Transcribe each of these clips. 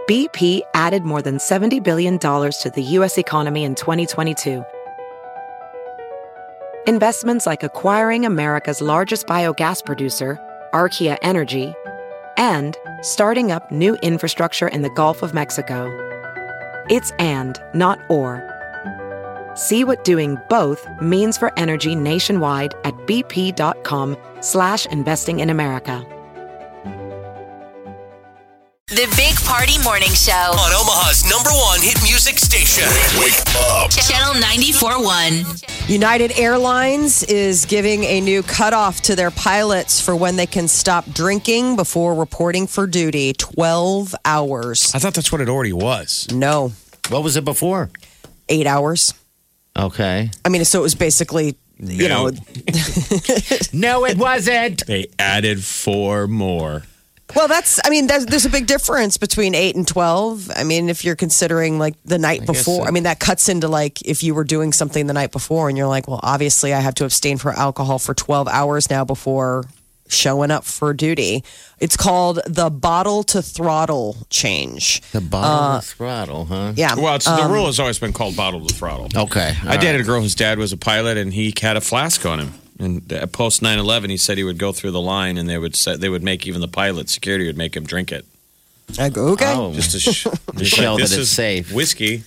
BP added more than $70 billion to the U.S. economy in 2022. Investments like acquiring America's largest biogas producer, Archaea Energy, and starting up new infrastructure in the Gulf of Mexico. It's and, not or. See what doing both means for energy nationwide at bp.com/investing in America. The Big Party Morning Show on Omaha's #1 hit music station. Wake up. Channel 94.1. United Airlines is giving a new cutoff to their pilots for when they can stop drinking before reporting for duty. 12 hours. I thought that's what it already was. No. What was it before? 8 hours. Okay. I mean, so it was basically, you know. No, it wasn't. They added 4 more. Well, there's a big difference between 8 and 12. I mean, if you're considering like the night before, I mean, that cuts into like if you were doing something the night before and you're like, well, obviously I have to abstain from alcohol for 12 hours now before showing up for duty. It's called the bottle to throttle change. The bottle to throttle, huh? Yeah. Well, the rule has always been called bottle to throttle. Okay. I dated a girl whose dad was a pilot, and he had a flask on him. And post 9/11, he said he would go through the line, and they would make even the pilot security would make him drink it. I go, okay. Oh. Just to show that it's safe. Whiskey.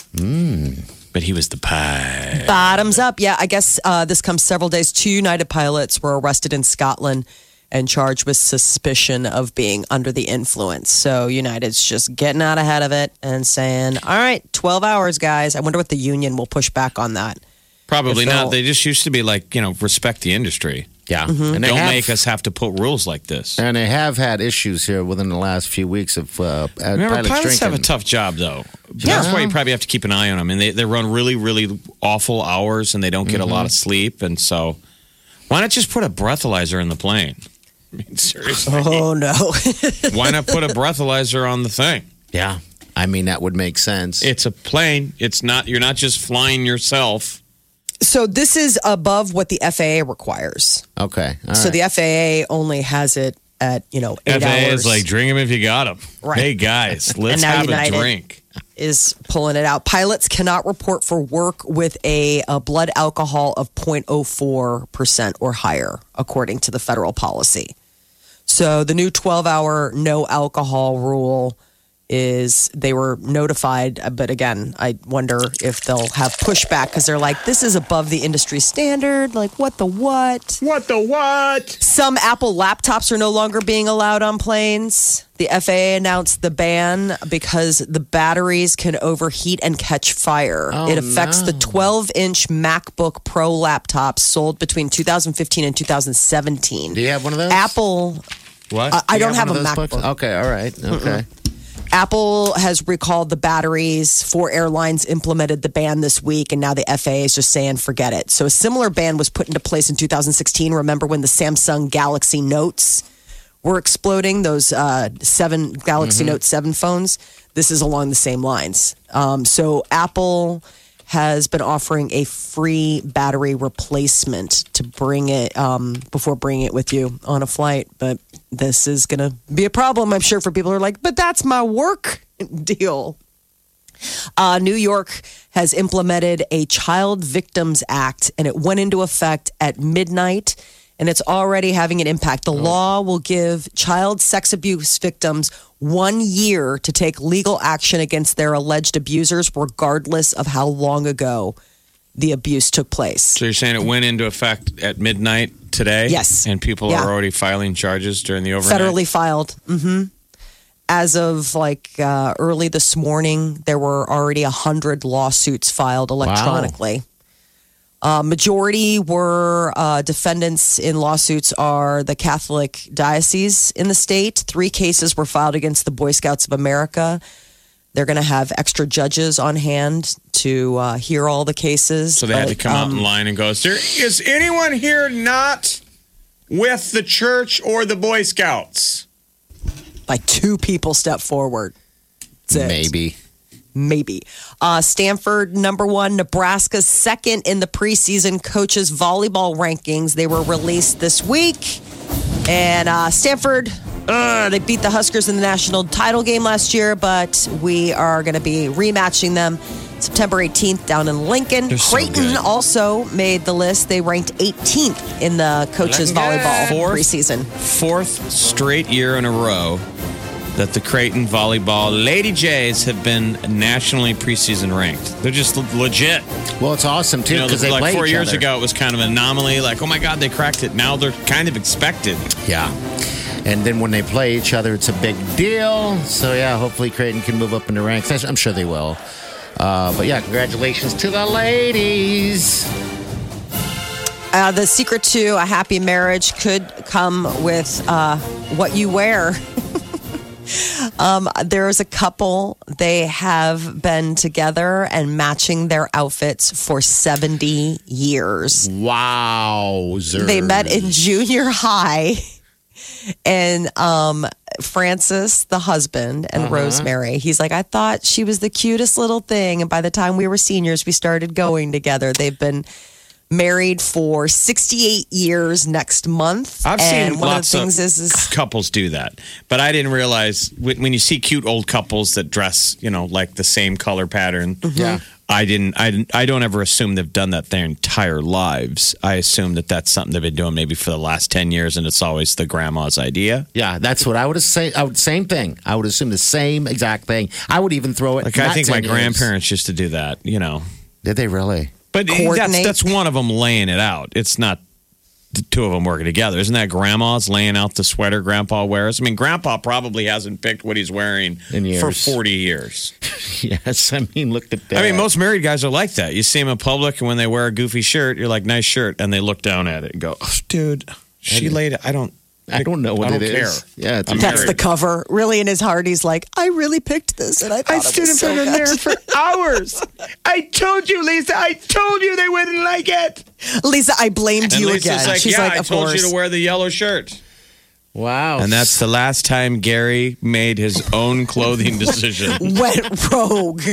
But he was the pie. Bottoms up. Yeah, I guess this comes several days. 2 United pilots were arrested in Scotland and charged with suspicion of being under the influence. So United's just getting out ahead of it and saying, all right, 12 hours, guys. I wonder what the union will push back on that. Probably not. They just used to be like, respect the industry. Yeah. Mm-hmm. And Don't make us have to put rules like this. And they have had issues here within the last few weeks of Remember, pilots pilots drinking. have a tough job, though. That's why you probably have to keep an eye on them. And they run really, really awful hours, and they don't get a lot of sleep. And so why not just put a breathalyzer in the plane? I mean, seriously. Oh, no. Why not put a breathalyzer on the thing? Yeah. I mean, that would make sense. It's a plane. You're not just flying yourself. So this is above what the FAA requires. Okay. All So right. the FAA only has it at, 8 FAA hours. is like, drink them if you got them. Right. Hey, guys, let's now have United a drink. Is pulling it out. Pilots cannot report for work with a blood alcohol of 0.04% or higher, according to the federal policy. So the new 12-hour no alcohol rule is they were notified. But again, I wonder if they'll have pushback because they're like, this is above the industry standard. Like, what the what? What the what? Some Apple laptops are no longer being allowed on planes. The FAA announced the ban because the batteries can overheat and catch fire. It affects the 12-inch MacBook Pro laptops sold between 2015 and 2017. Do you have one of those? Apple, What? I don't have a one of those MacBook. books? Okay. All right. Okay. Apple has recalled the batteries. 4 airlines implemented the ban this week, and now the FAA is just saying, forget it. So a similar ban was put into place in 2016. Remember when the Samsung Galaxy Notes were exploding, those Galaxy Note 7 phones? This is along the same lines. So Apple has been offering a free battery replacement to bring it before bringing it with you on a flight. But this is going to be a problem, I'm sure, for people who are like, but that's my work deal. New York has implemented a Child Victims Act, and it went into effect at midnight, and it's already having an impact. The law will give child sex abuse victims 1 year to take legal action against their alleged abusers, regardless of how long ago the abuse took place. So you're saying it went into effect at midnight today? Yes. And people Yeah. are already filing charges during the overnight? Federally filed. As of early this morning, there were already 100 lawsuits filed electronically. Majority were defendants in lawsuits are the Catholic diocese in the state. 3 cases were filed against the Boy Scouts of America. They're going to have extra judges on hand to hear all the cases. So they had to come out in line and go, is anyone here not with the church or the Boy Scouts? Like 2 people step forward. That's it. Maybe. Stanford, number 1. Nebraska's second in the preseason coaches volleyball rankings. They were released this week. And Stanford They beat the Huskers in the national title game last year, but we are going to be rematching them September 18th down in Lincoln. They're so Creighton good. also made the list. They ranked 18th in the coaches volleyball preseason. Fourth straight year in a row that the Creighton volleyball Lady Jays have been nationally preseason ranked. They're just legit. Well, it's awesome, too, because they like play 4 each years other. ago, it was kind of an anomaly. Like, oh my God, they cracked it. Now they're kind of expected. Yeah. And then when they play each other, it's a big deal. So, yeah, hopefully Creighton can move up in the ranks. I'm sure they will. But, yeah, congratulations to the ladies. The secret to a happy marriage could come with what you wear. There is a couple, they have been together and matching their outfits for 70 years. Wow. They met in junior high. And Francis, the husband, and Rosemary, he's like, I thought she was the cutest little thing. And by the time we were seniors, we started going together. They've been married for 68 years next month. I've and seen one lots of the things is couples do that, but I didn't realize when you see cute old couples that dress, like the same color pattern. Yeah. I don't ever assume they've done that their entire lives. I assume that that's something they've been doing maybe for the last 10 years, and it's always the grandma's idea. Yeah, that's what I would say. Same thing. I would assume the same exact thing. I would even throw it. Like, I think my 10 years. grandparents used to do that, Did they really? But Coordinate. that's one of them laying it out. It's not the two of them working together. Isn't that grandma's laying out the sweater grandpa wears? I mean, grandpa probably hasn't picked what he's wearing In years. for 40 years. Yes, I mean, look at that. I mean, most married guys are like that. You see them in public, and when they wear a goofy shirt, you're like, nice shirt. And they look down at it and go, oh, dude, she laid it. I don't know what I it don't care. is. Yeah, it's I'm that's married. the cover. Really, in his heart, he's like, I really picked this, and I thought it was so good. for hours. I told you, Lisa. I told you they wouldn't like it. Lisa, I blamed And you Lisa's again. like, She's yeah, like, I of told course. you to wear the yellow shirt. Wow. And that's the last time Gary made his own clothing decision. Went rogue.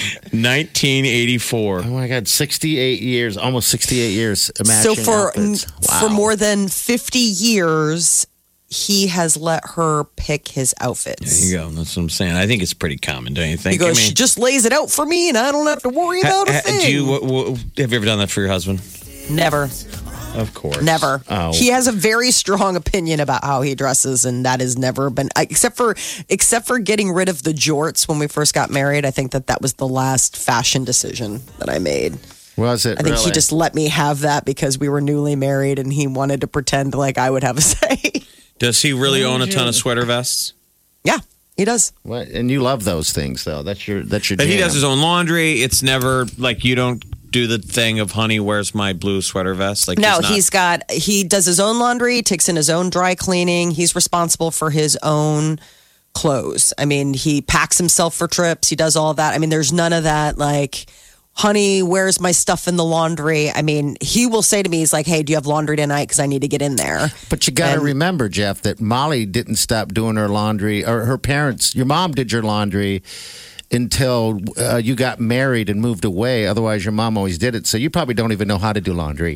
1984. Oh my God, 68 years, almost 68 years. So Matching for outfits. Wow. for more than 50 years, he has let her pick his outfits. There you go. That's what I'm saying. I think it's pretty common, don't you think? He goes, she just lays it out for me, and I don't have to worry about a thing. Have you ever done that for your husband? Never, Of course. never. Oh. He has a very strong opinion about how he dresses, and that has never been except for getting rid of the jorts when we first got married. I think that was the last fashion decision that I made. Was it I think really? he just let me have that because we were newly married, and he wanted to pretend like I would have a say. Does he really own a ton of sweater vests? Yeah, he does. What? And you love those things, though. That's your But jam. he does his own laundry. It's never like you don't do the thing of, honey, where's my blue sweater vest? Like No, he's not- he does his own laundry, takes in his own dry cleaning. He's responsible for his own clothes. I mean, he packs himself for trips. He does all that. I mean, there's none of that like, honey, where's my stuff in the laundry? I mean, he will say to me, he's like, hey, do you have laundry tonight? Because I need to get in there. But you got to And- remember, Jeff, that Molly didn't stop doing her laundry, or her parents, your mom did your laundry until you got married and moved away. Otherwise, your mom always did it. So you probably don't even know how to do laundry.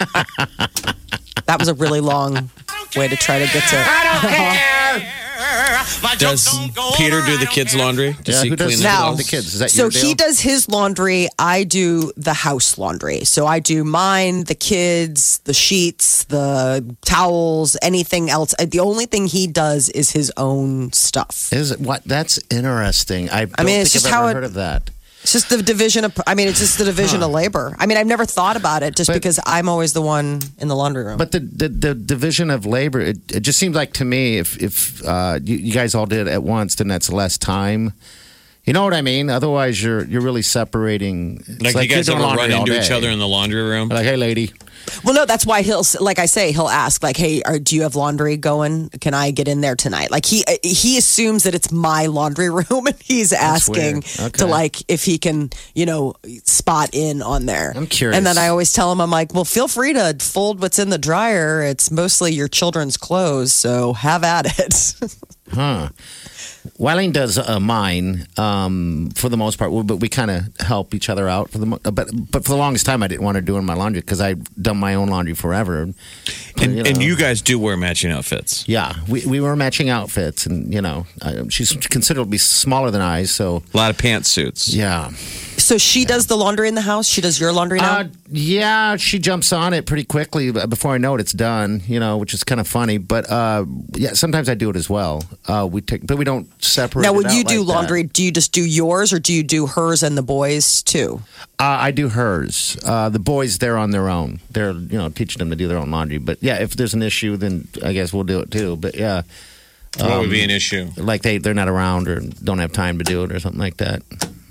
That was a really long way to try to get to. Does Peter do the kids' laundry? Does he who does clean Now- the the kids? Is that So your deal? he does his laundry. I do the house laundry. So I do mine, the kids, the sheets, the towels, anything else. The only thing he does is his own stuff. Is it what? That's interesting. I don't mean, it's think just I've how ever it- heard of that. It's just the division of. I mean, it's just the division of labor. I mean, I've never thought about it just But- because I'm always the one in the laundry room. But the division of labor, it just seems like to me, if you guys all did it at once, then that's less time. You know what I mean? Otherwise, you're really separating. It's Like, you guys you're ever doing run laundry all into each day. other in the laundry room? Like, hey, lady. Well, no, that's why like I say, he'll ask, like, "Hey, do you have laundry going? Can I get in there tonight?" Like he assumes that it's my laundry room, and he's asking weird. to Okay. like if he can, spot in on there. I'm curious. And then I always tell him, I'm like, "Well, feel free to fold what's in the dryer. It's mostly your children's clothes, so have at it." Huh. Wileen does mine for the most part, but we kind of help each other out. But for the longest time, I didn't want her doing my laundry because I've done my own laundry forever. And you guys do wear matching outfits. Yeah, we were matching outfits, and she's considerably smaller than I, so A lot of pantsuits. yeah. So she does the laundry in the house? She does your laundry now? Yeah, she jumps on it pretty quickly. Before I know it, it's done. Which is kind of funny. But yeah, sometimes I do it as well. But we don't separate. Now, it when out you do like that. laundry, do you just do yours or do you do hers and the boys too? I do hers. The boys, they're on their own. They're teaching them to do their own laundry. But yeah, if there's an issue, then I guess we'll do it too. But yeah, What would be an issue? like they're not around or don't have time to do it or something like that.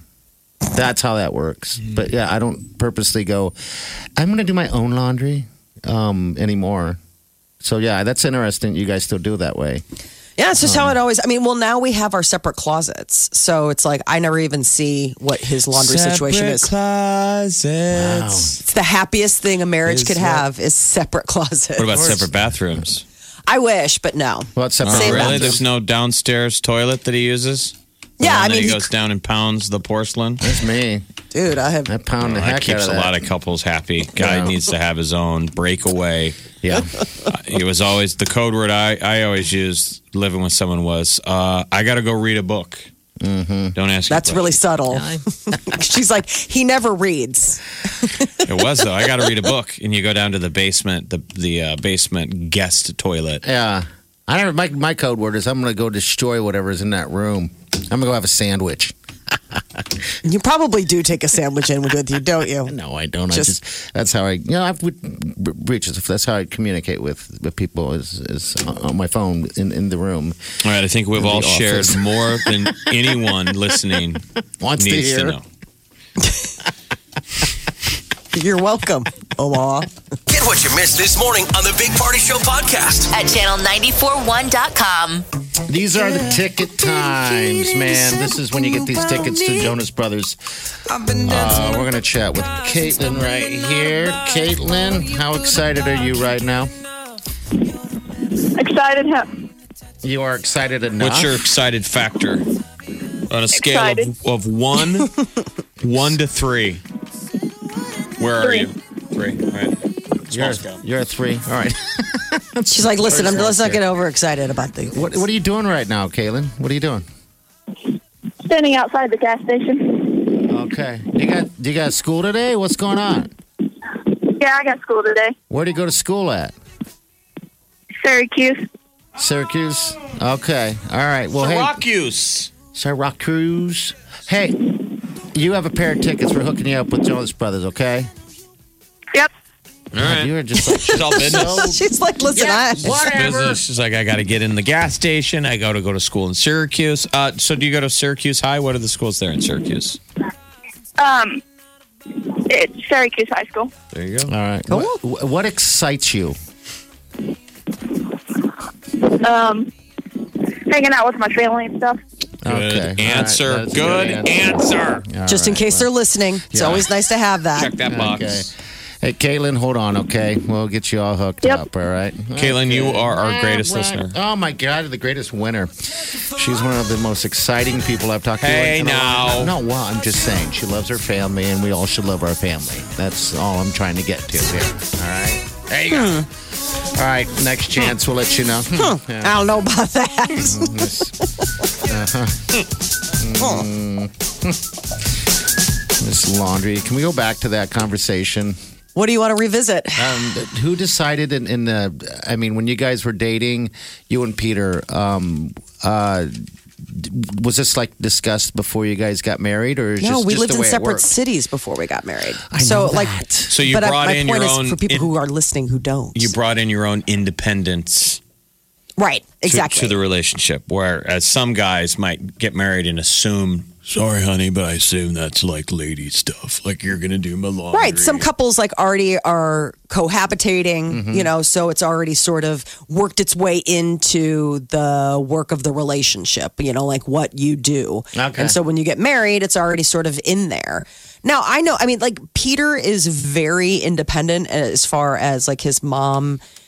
That's how that works. But yeah, I don't purposely go, I'm going to do my own laundry anymore. So yeah, that's interesting. You guys still do it that way. Yeah, it's just how it always. Now we have our separate closets, so it's like I never even see what his laundry situation is. Closets. It's the happiest thing a marriage could have is separate closets. What about separate bathrooms? I wish, but no. Well, it's separate. Oh, Same really? bathroom. There's no downstairs toilet that he uses? Yeah, And then I mean, he goes down and pounds the porcelain. That's me. dude, I have. I pound the That heck out keeps of a that. lot of couples happy. Guy Yeah. needs to have his own breakaway. Yeah. It was always the code word I always used living with someone was I got to go read a book. Mm-hmm. Don't ask. That's a really question. subtle. She's like, he never reads. It was though. I got to read a book, and you go down to the basement, the basement guest toilet. Yeah. I never. My code word is I'm going to go destroy whatever's in that room. I'm going to go have a sandwich. You probably do take a sandwich in with you, don't you? No, I don't. Just- That's how I've reached. That's how I communicate with people is on my phone in the room. All right, I think we've In the all shared office. more than anyone listening Wants to needs hear. to know. You're welcome, Omaha. Get what you missed this morning on the Big Party Show podcast. At channel941.com. These are the ticket times, man. This is when you get these tickets to Jonas Brothers. We're going to chat with Caitlin right here. Caitlin, how excited are you right now? Excited. You are excited enough. What's your excited factor on a scale Excited. of 1 to 3? Where are Three. you? 3. All right. Small scale. You're a 3. All right. She's like, listen, let's not get overexcited about the. What are you doing right now, Caitlin? What are you doing? Standing outside the gas station. Okay. You got school today? What's going on? Yeah, I got school today. Where do you go to school at? Syracuse. Syracuse? Okay. All right. Well, hey. Syracuse. Syracuse. Hey, you have a pair of tickets. We're hooking you up with Jonas Brothers, okay? Yep. All right. You are just like, She's all business. She's like, listen, Business. She's like, I got to get in the gas station. I got to go to school in Syracuse. So do you go to Syracuse High? What are the schools there in Syracuse? It's Syracuse High School. There you go. all right. Cool. What excites you? Hanging out with my family and stuff. Good Okay. answer. All right. That's a Good answer. All just in right. case they're listening. It's Yeah. always nice to have that. Check that box. Okay. Hey, Caitlin, hold on, okay? We'll get you all hooked Yep. up, all right? Caitlin, you are our greatest All right. listener. Oh, my God, the greatest winner. She's one of the most exciting people I've talked to. Hey, in a long now. time. No, well, I'm just saying. She loves her family, and we all should love our family. That's all I'm trying to get to here, all right? There you go. All right, next chance, we'll let you know. Yeah. I don't know about that. Miss Laundry. Can we go back to that conversation? What do you want to revisit? Who decided in the? I mean, when you guys were dating, you and Peter, was this like discussed before you guys got married, or No, we just lived the in way it separate worked? cities before we got married. I so, know like, that. So you but brought my in point your is own for people who are listening who don't. You brought in your own independence right, to, exactly. to the relationship, whereas some guys might get married and assume, sorry, honey, but I assume that's like lady stuff. Like you're going to do my laundry. Right. Some couples like already are cohabitating, Mm-hmm. so it's already sort of worked its way into the work of the relationship, like what you do. Okay. And so when you get married, it's already sort of in there. Now, like Peter is very independent as far as like his mom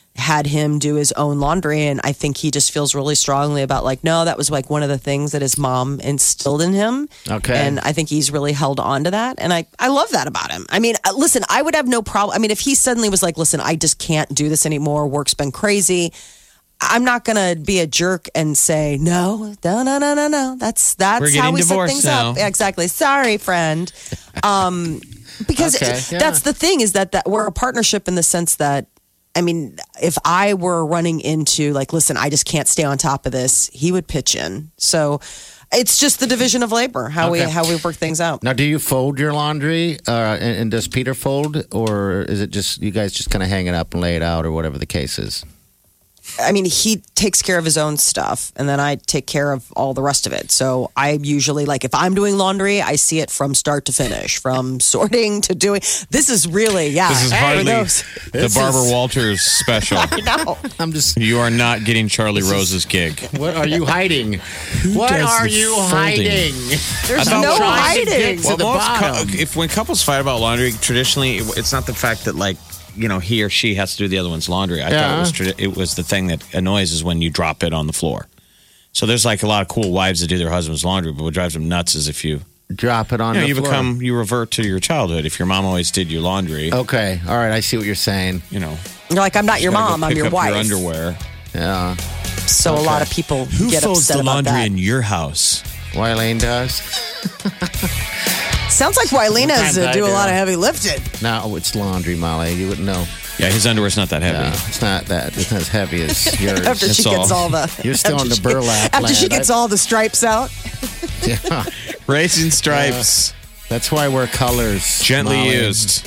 had him do his own laundry. And I think he just feels really strongly about like, no, that was like one of the things that his mom instilled in him. Okay. And I think he's really held on to that. And I love that about him. I mean, listen, I would have no problem. I mean, if he suddenly was like, listen, I just can't do this anymore. Work's been crazy. I'm not going to be a jerk and say, no. That's We're how we getting set divorced things now. up. Yeah, exactly. Sorry, friend. Because Okay, yeah. that's the thing is that we're a partnership in the sense that, I mean, if I were running into like, listen, I just can't stay on top of this, he would pitch in. So it's just the division of labor, how we work things out. Now, do you fold your laundry, and does Peter fold, or is it just you guys just kind of hang it up and lay it out, or whatever the case is? I mean, he takes care of his own stuff, and then I take care of all the rest of it. So I usually, like, if I'm doing laundry, I see it from start to finish, from sorting to doing. This is really, This is hardly This the Barbara is- Walters special. No. I'm just. You are not getting Charlie Rose's gig. What are you hiding? What does are the you folding? hiding? There's I thought no trying to hiding. get to the bottom. When couples fight about laundry, traditionally it's not the fact that like he or she has to do the other one's laundry. I thought it was the thing that annoys is when you drop it on the floor. So there's like a lot of cool wives that do their husband's laundry, but what drives them nuts is if you Drop it on the floor. you revert to your childhood. If your mom always did your laundry, Okay, all right, I see what you're saying. You're like, I'm not your gotta go mom, I'm pick your up wife. Your underwear. Yeah, So a lot of people Who get folds upset the about laundry that. in your house? Wileen does. Sounds like Wylena Sometimes I do a do. lot of heavy lifting. No, it's laundry, Molly. You wouldn't know. Yeah, his underwear's not that heavy. No, it's not that. It's not as heavy as yours. After she That's gets all. all the. You're still after on the she- burlap After she land. gets all the stripes out. Yeah, Racing stripes, that's why we're colors. gently Molly. used.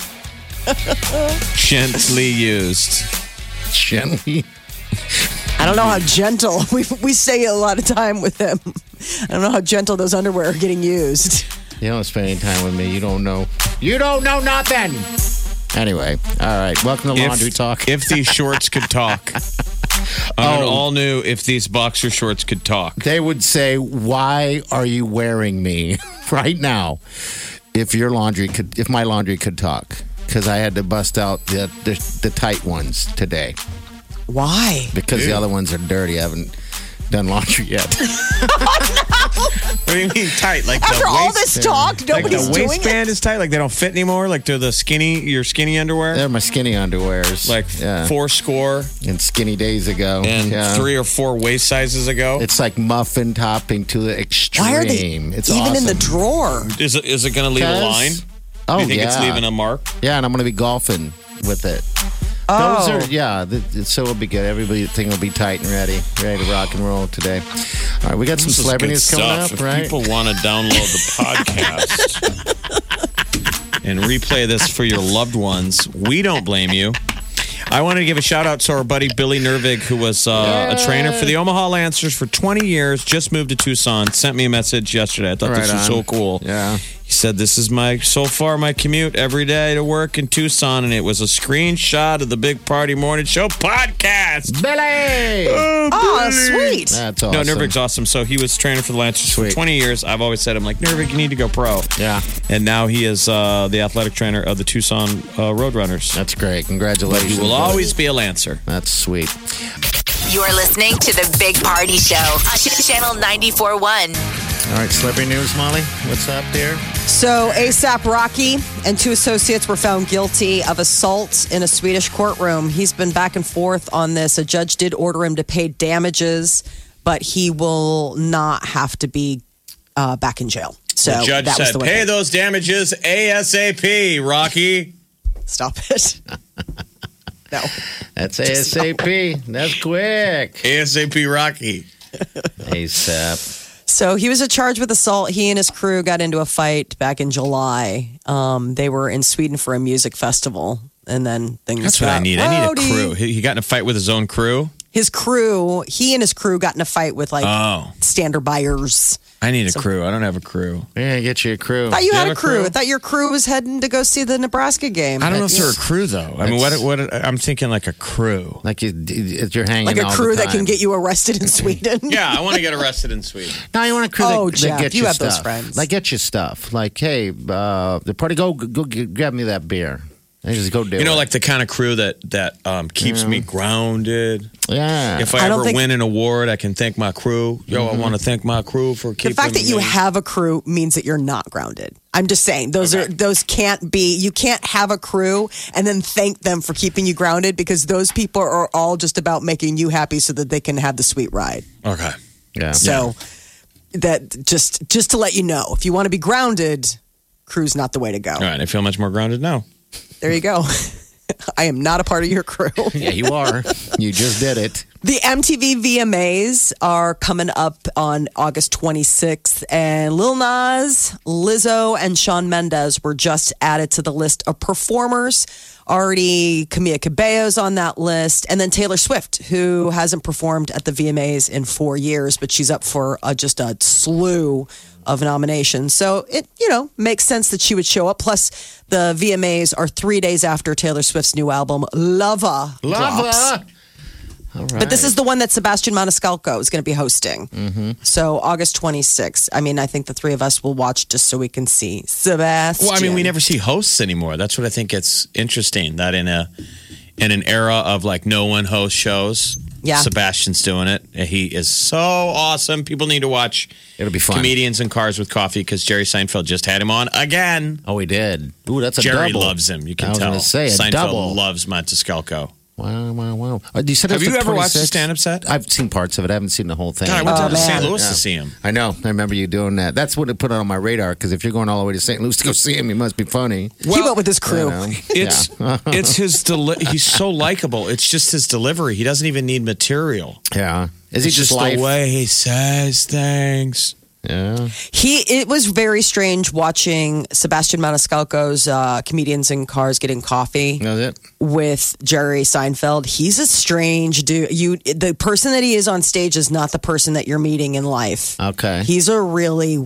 Gently used. Gently. I don't know how gentle. We say it a lot of time with him. I don't know how gentle those underwear are getting used. You don't spend any time with me. You don't know. You don't know nothing. Anyway, all right. Welcome to Laundry Talk. If these shorts could talk. On an all new If These Boxer Shorts Could Talk. They would say, "Why are you wearing me right now?" If my laundry could talk, because I had to bust out the tight ones today Why? because the other ones are dirty. I haven't done laundry yet. What do you mean tight? Like After the all waist, this talk, like nobody's the doing waistband it. is tight. Like they don't fit anymore. Like they're your skinny underwear. They're my skinny underwears. Like yeah. 4 score and skinny days ago, and yeah. 3 or 4 waist sizes ago. It's like muffin topping to the extreme. Why are they It's even awesome. in the drawer? Is it going to leave a 'Cause- line? Oh, Do you think yeah. it's leaving a mark? Yeah, and I'm going to be golfing with it. Those are, so it'll be good. Everything will be tight and ready to rock and roll today. All right, we got some This is celebrities good coming stuff. up, If right? people want to download the podcast and replay this for your loved ones, we don't blame you. I wanted to give a shout out to our buddy Billy Nervig, who was a trainer for the Omaha Lancers for 20 years, just moved to Tucson, sent me a message yesterday. I thought this Right was on. so cool. Yeah. He said, this is my commute every day to work in Tucson. And it was a screenshot of the Big Party Morning Show podcast. Billy! Oh, sweet. That's No, awesome. Nervig's awesome. So he was training for the Lancers for Sweet. 20 years. I've always said, I'm like, Nervig, you need to go pro. Yeah, And now he is the athletic trainer of the Tucson Roadrunners. that's great. But Congratulations. he will Billy. always be a Lancer. That's sweet. You're listening to the Big Party Show on Channel 94.1. All right, celebrity news, Molly. What's up there? So ASAP Rocky and 2 associates were found guilty of assault in a Swedish courtroom. He's been back and forth on this. A judge did order him to pay damages, but he will not have to be back in jail. So The judge that was said, the way. pay those damages ASAP, Rocky. Stop it. No. That's ASAP. That's quick. ASAP, Rocky. ASAP. So he was charged with assault. He and his crew got into a fight back in July. They were in Sweden for a music festival, and then things. That's what I got need. I need a rowdy. crew. He got in a fight with his own crew. His crew, he and his crew got in a fight with like standard buyers. I need a crew. I don't have a crew. Yeah, get you a crew. I thought you had have a a crew. crew? I thought your crew was heading to go see the Nebraska game. I don't know if they're a crew though. I mean, what? I'm thinking like a crew. Like you're hanging like a all the crew that can time. get you arrested in Sweden. Yeah, I want to get arrested in Sweden. No, you want a crew Oh, that Jeff, get you you have stuff. those friends. Like get you stuff. Like, hey, the party, go grab me that beer. I just go do it. Like the kind of crew that keeps me grounded. Yeah. If I ever win an award, I can thank my crew. I want to thank my crew for keeping The fact that you me. have a crew means that you're not grounded. I'm just saying those can't be. You can't have a crew and then thank them for keeping you grounded because those people are all just about making you happy so that they can have the sweet ride. Okay. Yeah. So that just to let you know, if you want to be grounded, crew's not the way to go. All right. I feel much more grounded now. There you go. I am not a part of your crew. Yeah, you are. You just did it. The MTV VMAs are coming up on August 26th, and Lil Nas, Lizzo, and Shawn Mendes were just added to the list of performers. Already Camila Cabello's on that list, and then Taylor Swift, who hasn't performed at the VMAs in 4 years, but she's up for just a slew of nominations. So it, makes sense that she would show up. Plus, the VMAs are 3 days after Taylor Swift's new album, Lava drops. All right. But this is the one that Sebastian Maniscalco is going to be hosting. So August 26th. I mean, I think the three of us will watch just so we can see Sebastian. Well, I mean, we never see hosts anymore. That's what I think it's interesting that in an era of like no one hosts shows, Sebastian's doing it. He is so awesome. People need to watch. It'll be fun. Comedians in Cars with Coffee because Jerry Seinfeld just had him on again. Oh, he did. Ooh, that's a Jerry double. loves him. You can I was tell. gonna say, a Seinfeld double. loves Maniscalco. Wow. You said Have it's you the ever watched the 26th? stand-up set? I've seen parts of it. I haven't seen the whole thing. God, I went to man. St. Louis to see him. I know. I remember you doing that. That's what it put on my radar, because if you're going all the way to St. Louis to go see him, he must be funny. He went with his crew. It's it's his he's so likable. It's just his delivery. He doesn't even need material. Yeah. Is he It's just just life? the way he says things. Yeah. It was very strange watching Sebastian Maniscalco's Comedians in Cars Getting Coffee That's it. with Jerry Seinfeld. He's a strange dude. The person that he is on stage is not the person that you're meeting in life. Okay. He's a really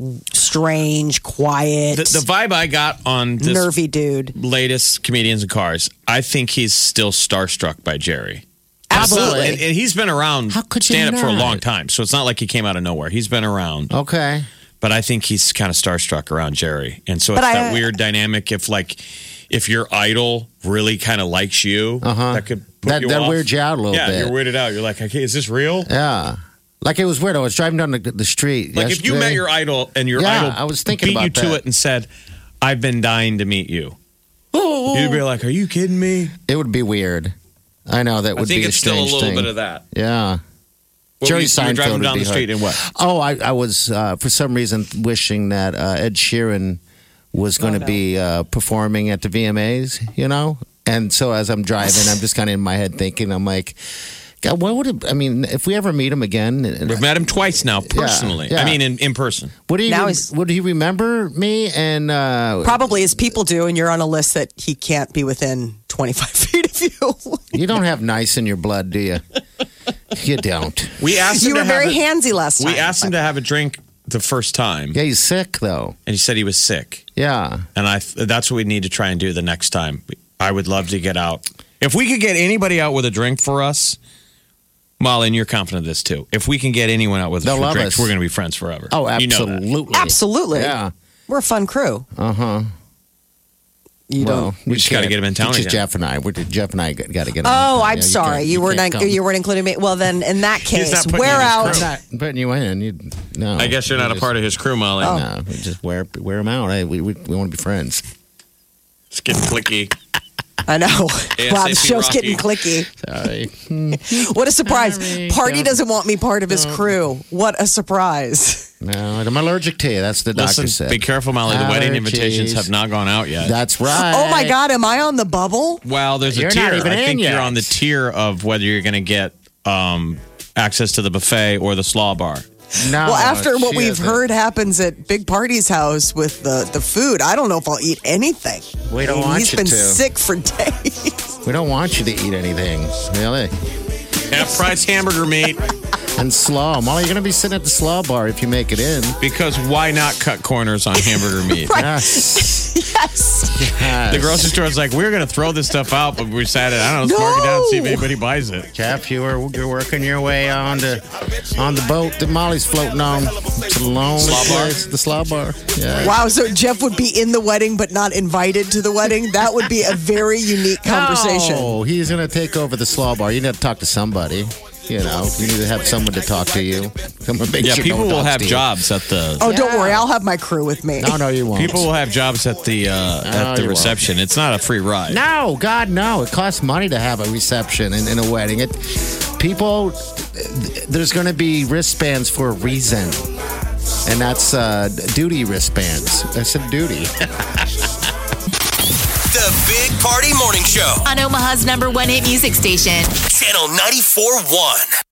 strange, quiet, The vibe I got on this nervy dude. latest Comedians in Cars, I think he's still starstruck by Jerry. Absolutely. And he's been around How could you stand up for a not? long time, so it's not like he came out of nowhere. He's been around. Okay. But I think he's kind of starstruck around Jerry. And so it's But that weird dynamic if your idol really kind of likes you, that could put you That off. weirds you out a little Yeah, bit. you're weirded out. You're like, okay, is this real? Yeah. Like it was weird. I was driving down the street. Like if you met your idol and your Yeah, idol I was thinking beat about you to that. it and said, I've been dying to meet you. You'd be like, are you kidding me? It would be weird. I know that I would think be it's a still a strange little thing. bit of that. Yeah. What Jerry were you were driving Seinfeld down would the be street hard. and what? Oh, I was for some reason wishing that Ed Sheeran was going to be performing at the VMAs, And so as I'm driving, I'm just kind of in my head thinking, I'm like, God, what would it? I mean, if we ever meet him again, We've met him twice now, personally. yeah. I mean, in person. would he? Now he's- Would he remember me? And Probably as people do, and you're on a list that he can't be within 25 feet of you. you don't have nice in your blood, do you? You don't. We asked him You to were have very handsy last time. We asked him to have a drink the first time, Yeah, he's sick though. and he said he was sick. Yeah. And that's what we need to try and do the next time. I would love to get out. If we could get anybody out with a drink for us, Molly, and you're confident of this too. If we can get anyone out with They'll us for love drinks, us. we're going to be friends forever. Oh, You know that. absolutely. Absolutely. Yeah. We're a fun crew. You don't. We just gotta can't. get him in town It's just again. Jeff and I. Jeff and I got to get him. Oh, Yeah, I'm sorry. can't- You weren't can't come. you weren't including me. Well, then in that He's case, not putting we're you in his out. crew. I'm not putting you in. No. I guess you're not a part of his crew, Molly. No, we just wear them out. Hey, we want to be friends. It's getting clicky. I know. Wow, the ASAP show's Rocky. getting clicky. Sorry. What a surprise. Sorry. Party doesn't want me part of his crew. What a surprise. No, I'm allergic to you. That's the doctor Listen, said. be careful, Molly. The wedding Allergies. invitations have not gone out yet. That's right. Oh my God, am I on the bubble? Well, there's You're a not tier. even I in think yet. you're on the tier of whether you're going to get access to the buffet or the slaw bar. No, Well, after what she we've hasn't. heard happens at Big Party's house with the food, I don't know if I'll eat anything. We don't want He's you been to. sick for days. We don't want you to eat anything. Really? Half price hamburger meat. and slaw. Molly, you're going to be sitting at the slaw bar if you make it in. Because why not cut corners on hamburger meat? Yes. Yes. The grocery store's like, we're going to throw this stuff out, but we decided, I don't know, let's mark it down and see if anybody buys it. Jeff, you're working your way on the boat that Molly's floating on. It's a lonely Slaw bar? place. The slaw bar. Yeah. Wow, so Jeff would be in the wedding but not invited to the wedding? That would be a very unique conversation. Oh, he's going to take over the slaw bar. You need to talk to somebody. You know, you need to have someone to talk to you. Someone make Yeah, sure people no one will talks have to you. jobs at the... Oh, don't worry. I'll have my crew with me. No, you won't. People will have jobs at the you won't. reception. It's not a free ride. No, God, no. It costs money to have a reception in a wedding. There's going to be wristbands for a reason. And that's duty wristbands. I said duty. The Big Party Morning Show. On Omaha's #1 hit music station. Channel 94.1.